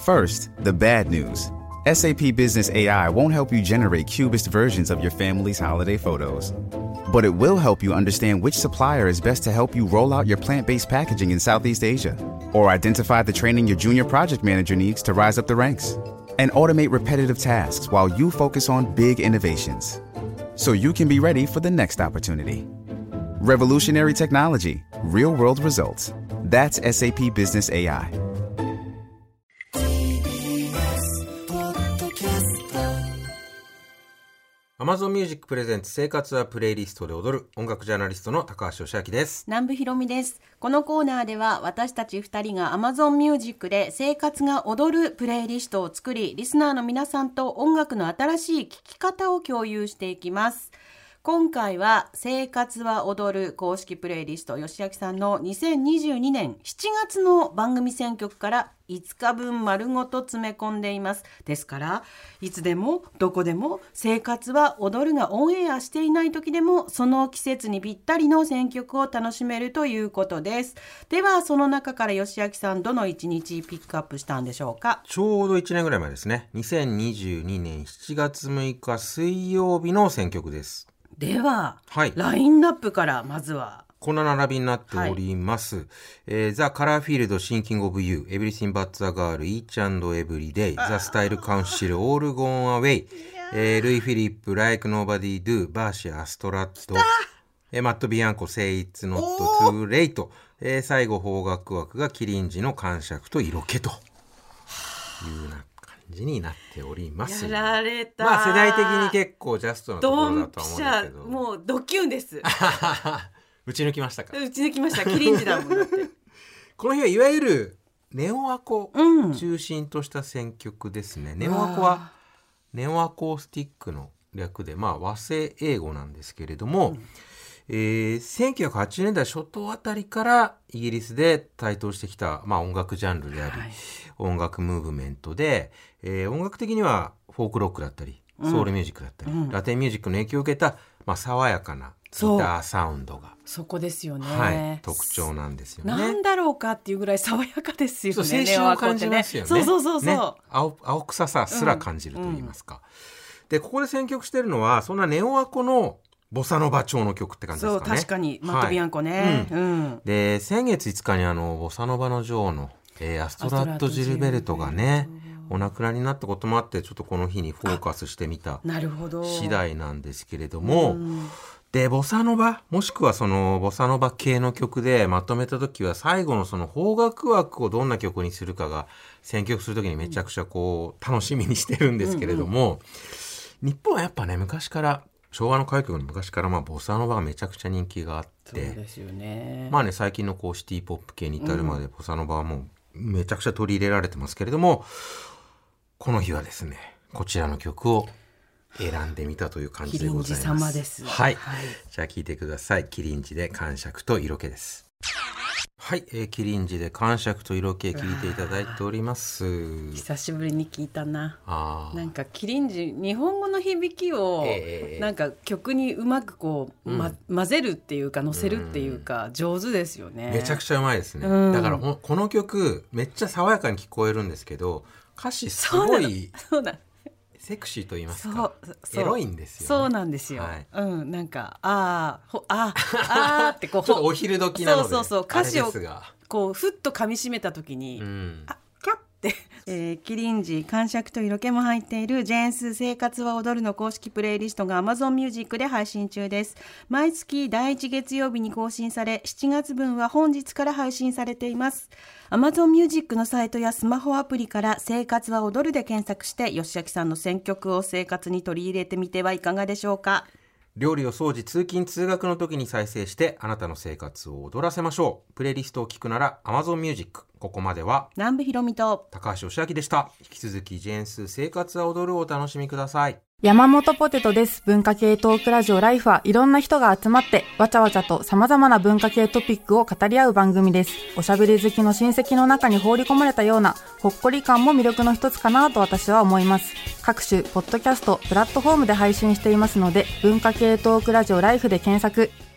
First, the bad news. SAP Business AI won't help you generate cubist versions of your family's holiday photos. But it will help you understand which supplier is best to help you roll out your plant-based packaging in Southeast Asia, or identify the training your junior project manager needs to rise up the ranks, and automate repetitive tasks while you focus on big innovations, so you can be ready for the next opportunity. Revolutionary technology, real-world results. That's SAP Business AI. Amazon Music プレゼンツ生活はプレイリストで踊る音楽ジャーナリストの高橋義明です。 南部ひろみです。このコーナーでは私たち2人が Amazon Music で生活が踊るプレイリストを作り、リスナーの皆さんと音楽の新しい聴き方を共有していきます。今回は生活は踊る公式プレイリスト、吉明さんの2022年7月の番組選曲から5日分丸ごと詰め込んでいます。ですからいつでもどこでも生活は踊るがオンエアしていない時でもその季節にぴったりの選曲を楽しめるということです。ではその中から吉明さん、どの1日ピックアップしたんでしょうか？ ちょうど1年ぐらい前ですね。2022年7月6日水曜日の選曲です。 では、 はい、 ラインナップからまずはこんな並びになっております。The Colorfield Thinking of You, Everything But the Girl, Each and Every Day, The Style Council, All Gone Away, ルイ・フィリップ、Like Nobody Do, バーシア・ストラット、マット・ビアンコ、Say It's Not Too Late、最後邦楽枠がキリンジの感触と色気というな感じになっております。 やられた。 まあ世代的に結構ジャストなところだとは思うんですけど、 もうドキュンです打ち抜きましたか？ 打ち抜きました。キリンジだもんだってこの日はいわゆるネオアコ中心とした選曲ですね。ネオアコはネオアコースティックの略で、まあ和製英語なんですけれども、1980年代初頭あたりからイギリスで台頭してきた、まあ、音楽ジャンルであり、音楽ムーブメントで、音楽的にはフォークロックだったりソウルミュージックだったり、ラテンミュージックの影響を受けた、まあ、爽やかなギターサウンドがそこですよね、 はい、特徴なんですよね。 なんだろうかっていうぐらい爽やかですよね。 青春を感じますよね。 そう、ね、 青臭さすら感じると言いますか、でここで選曲してるのはそんなネオアコのボサノバ調の曲って感じですかね。 そう確かにマット・ビアンコね、 で先月5日にボサノバの女王の、アストラッド・ジルベルトがねお亡くなりになったこともあって、ちょっとこの日にフォーカスしてみた次第なんですけれども、でボサノバもしくはそのボサノバ系の曲でまとめた時は最後のその邦楽枠をどんな曲にするかが選曲する時にめちゃくちゃこう楽しみにしてるんですけれども、日本はやっぱね昔から昭和の歌謡曲の昔からまあボサノバがめちゃくちゃ人気があって、 そうですよね。 まあね最近のこうシティポップ系に至るまでボサノバはもうめちゃくちゃ取り入れられてますけれども、この日はですねこちらの曲を選んでみたという感じでございます。 キリンジ様です。 はい、じゃあ聴いてください。キリンジで感触と色気です。はい、キリンジで感触と色気聞いていただいております。 久しぶりに聞いたな。なんかキリンジ日本語の響きを、なんか曲にうまくこう、混ぜるっていうか乗せるっていうか、上手ですよね。 めちゃくちゃうまいですね、だからこの曲めっちゃ爽やかに聞こえるんですけど歌詞すごいセクシーと言いますかエロいんですよね。 そうなんですよ、なんかってこうちょっとお昼時なので歌詞をこうふっと噛み締めた時に、キャッて、キリンジ感触と色気も入っているジェーンス生活は踊るの公式プレイリストが Amazon Music で配信中です。毎月第1月曜日に更新され7月分は本日から配信されています。 Amazon Music のサイトやスマホアプリから生活は踊るで検索して吉明さんの選曲を生活に取り入れてみてはいかがでしょうか。 料理を掃除通勤通学の時に再生してあなたの生活を踊らせましょう。プレイリストを聞くなら Amazon Music。 ここまでは南部ひろみと高橋義明でした。引き続きジェーンス生活は踊るをお楽しみください。 山本ポテトです。文化系トークラジオライフはいろんな人が集まってわちゃわちゃと様々な文化系トピックを語り合う番組です。おしゃべり好きの親戚の中に放り込まれたようなほっこり感も魅力の一つかなと私は思います。各種ポッドキャストプラットフォームで配信していますので文化系トークラジオライフで検索。